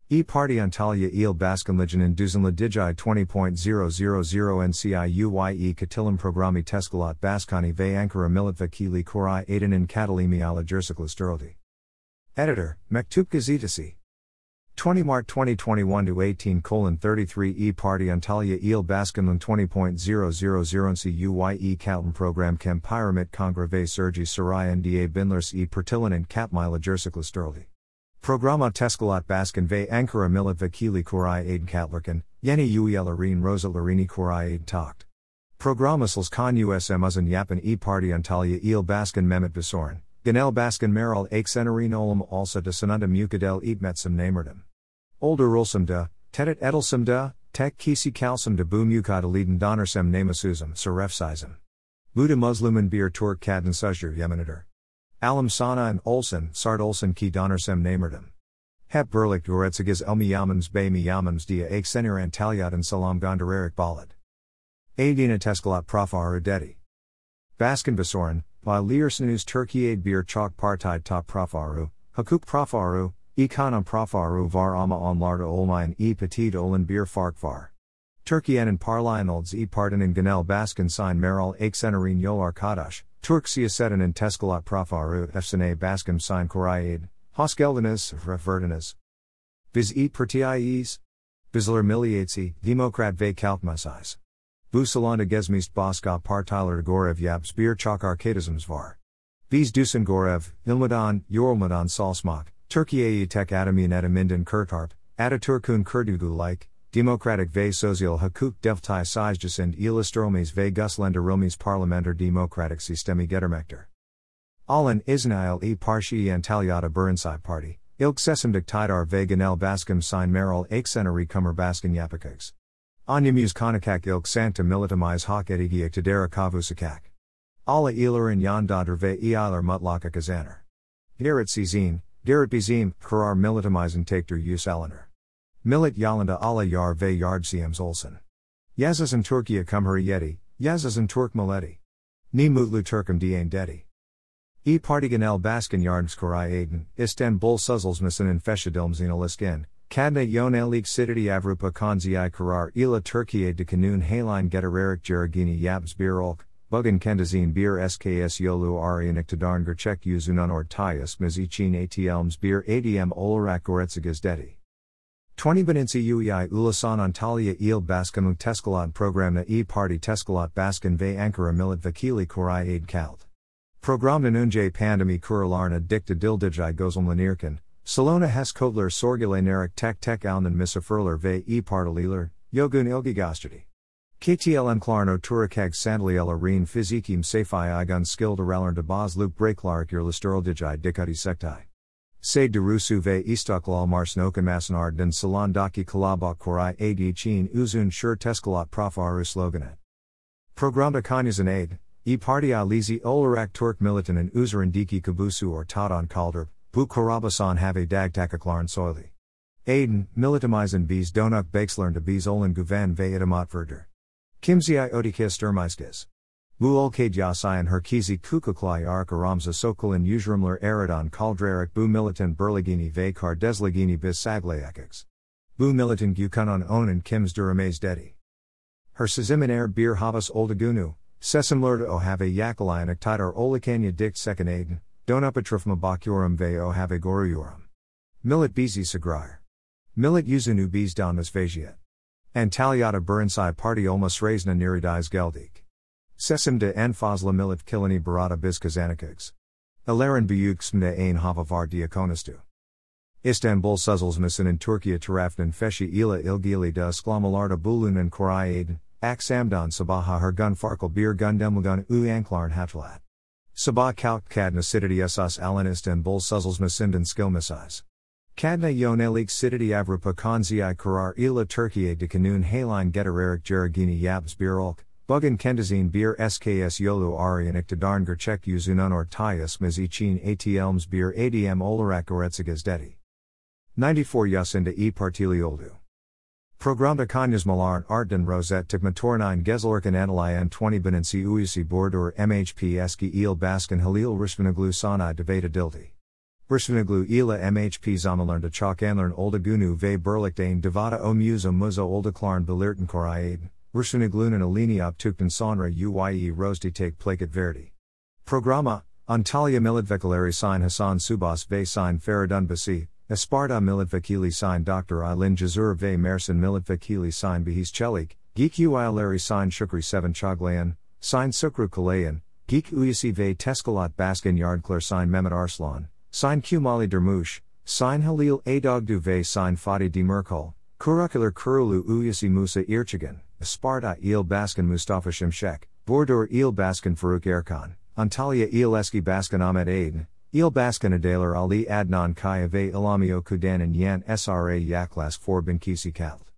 E Party Antalya Il Baskanlijan in Duzenla Digi 20.000 NCIUYE Katilim Programi Teskalat Baskani ve Ankara Millet Vakili Koray Aydın in Katalimi ala Jersikla Steroldi. Editor, Mektup Gazetesi. 20 Mart 2021 to 18:33 E Party Antalya Il Baskanlin 20.000 NCIUYE Kalten Program Kem Pyramid Kongra ve Sergi Saray Nda Binlers E Pertilan in Katmila Jersikla Steroldi. Programa Teskalat Baskan ve Ankara Millet Vakili Koray Aydın Katlarkan, Yeni Uyelarin Rosa Larini Koray Aydın Takt. Programasals Kan USM Uzun Yapan E Party Antalya Il Baskan Mehmet Basoran, Genel Baskan Meral Aksenarin Olam Alsa de Sananda Mukadel Eatmetsum Namerdem. Older Ulsum da, Tetet Edelsum da, Tek Kisi Kalsum de Bu Mukadaliden Donersem Namasuzum Sarefsizum. Buda Musliman Bir Turk Kadın Sujur Yemenader. Alam Sana and Olsen, Sart Olsen ki Donersem Namerdem. Hep Berlik Goretziges Elmiyamams Bey Miyamams dia Aksenir Antalyadan Salam Gondarerik Balad. Adina Teskalat Profaru Dedi. Baskan Basoran, by Leersnus Turkiye Bir Chalk Partide Top Profaru, Hukuk Profaru, Ekonum Profaru Var Ama Onlarda Olmayan E Petit Olan Bir Fark Var. Türkiye'nin Parlayanolds E Partinin Genel Baskan Sign Meral Aksenarin Yol Arkadaş, Turk Siyasetin Teskalat Profaru Efsane Baskan Sign Korayid, Hosgeldeniz, Referdeniz. Biz E Pertiayes? Bizler Miliatsi, Demokrat ve Kalkmasais. Bu Salonda Gezmist Baska Partiler Gorev Yabs Bir Chak Arkadisms Var. Biz Dusan Gorev, Ilmadan, Yorulmadan Salsmak, Türkiye'yi Tek Adamin Edaminden Kurtarp, Ataturkun Kurdugu like, Demokratik ve Sosyal Hukuk Devtay Sizjasind İlastromis ve Guslenderilmis Parlamenter Demokratik Sistemi Getirmektir. Alın İsnail E Parşi Antalyada Burinsai Party, İlk Sesimdik Tidar ve Genel Baskim Sign Meral Aksenari Kumar Baskin Yapakags. Anyamuz Konakak İlk Santa Militamiz Hak Edigiyak Tadera Kavusakak. Ala İlarin Yandadır ve İalar Mutlaka Kazaner. Gerrit Sizin, Gerrit Bizim, Karar Militamizin Tektir Yus Alaner. Millet Yalanda ala Yar ve Yardsiyems Olsen. Yazazın Türkiye Cumhuriyeti, Yazazın Türk Milleti. Ni Mutlu Turkum Diyen Dedi. E Parti Genel Baskan Yardımskoray Aydın, İstanbul Sözleşmesi'nin Feşedilmzine ilişkin, Kadna Yönelik Siditi Avrupa Konziai Karar ila Türkiye de Kanun Haline Getiririk Geragini Yabs Bir Olk, Bugün Kendizin Bir SKS Yolu Aryan İktidarın Gerçek Yüzünden Ortaya Miz için ATLMs Bir ADM Olarak Goretziges Dedi. 20 Bininci Uyay Ulasan Antalya Il Baskanlık Teskalat Programna E Parti Teskalat Baskan ve Ankara Millet Vakili Koray Aydın Kalt. Programdan önce pandemi kurallarına dikta dildijay gözlemlenirken, Salona Hes Kodler Sorgulenerek tek alnen misafirler ve E Partililer, Yogun ilgigastri. KTLM Klarno Turikag Sandalielarin Fizikim Safai Igun Skildaralarn de Baz Luke Breaklarik Yerlisteraldijay Dikati Sektai. Se Derusu ve İstiklal Marsnokan Masanardın Salandaki Kalabak Koray Ad Chin Uzun Shur Teskalat Profaru Sloganet. Programda Kanyazan Aid, E Parti Alizi Olarak Turk Militanin Üzerindeki Kabusu or Tadan Kaldırp, Bu Karabasan Have Dagtakaklarn Soyli. Aydın, Militamizin Biz Donuk Bakeslarn de Biz Olan Guven ve Itamat Verder. Kimziai Odikis Dermiskis. Bu Olkade Yasayan Herkesi Kukuklai Ark Aramza Sokolin Uzrumler Aradan Kaldrarik Bu Militan Berligini ve Kardesligini Biz Saglayakiks. Bu Militan Gukunan Onan Kims Durames Dedi. Her Sizimin Bir Havas Oldagunu, Sesimlerde O Have Yakalayan Iktidar Olikanya Dikt Second Aydın, Donupatrifma Bakyorum ve O Have Goruyorum. Millet Bizi Sagrair. Millet Uzunu Biz Donmas Vajiet. Antalyada Burinsai Parti Olmas Razna Niridiz Geldik. Sesim de en fazla millet kilini barata biz kazanikags. Ilarin büyük smde ein hava var diakonastu. İstanbul Sözleşmesi'nin Türkiye tarafından feshi ila ilgili de ısklamalarda bulunan Koray Aydın, Aksamdan Sabaha her gun farklı bir gundemligun uyanklarn hatlat. Sabah kalk kadna siditi esas alan İstanbul Sözleşmesi'nden skilmesiz. Kadna yönelik siditi Avrupa Konziai Karar ila Türkiye de Kanun Haline Getiririk Geragini Yabs Bir Olk, Bugün Kendizin Bir SKS Yolu Aryan İktidarın Gerçek Yüzünden Ortaya Miz için ATLMs Bir ADM Olarak Goretziges Dedi. 94 Yaşında E Partili Oldu. Programda Kanyazmalarn Artdan Rosette Tıkmatornine Gezalırken Analayan 20 Bininci Uyusi Bordur MHP Eski Il Baskan Halil Rishvanaglu Sanai Devata Dildi. Versuniglu ila mhp zamalernde chok anlern olde gunu ve berlichtain devata o muza muza olde klarn belirten koraiden, Versuniglunen alini op tukten sonra uye rosti take plaket verdi. Programma, Antalya Militvekilari sign Hassan Subas ve sign Feridun Basi, Esparta Militvekili sign Dr. Aylin Jazur ve Mersin Militvekili sign Bihis Chelik, Geek Uyalari sign Shukri 7 Chaglayan, sign Sukru Kalayan, Geek Uyasi ve Teskalat Baskin Yardklar sign Mehmet Arslan, sign Kumali Dermush, sign Halil Adogdu ve sign Fatih Demirkol, Kurakular Kurulu Uyasi Musa Irchigan, Esparta Il Baskin Mustafa Şimşek, Bordur Il Baskin Faruk Erkan, Antalya Il Eski Baskin Ahmet Aydin, Il Baskin Adalar Ali Adnan Kaya ve Ilamio Kudan and Yan Sra Yaklas for Binkisi Kalt.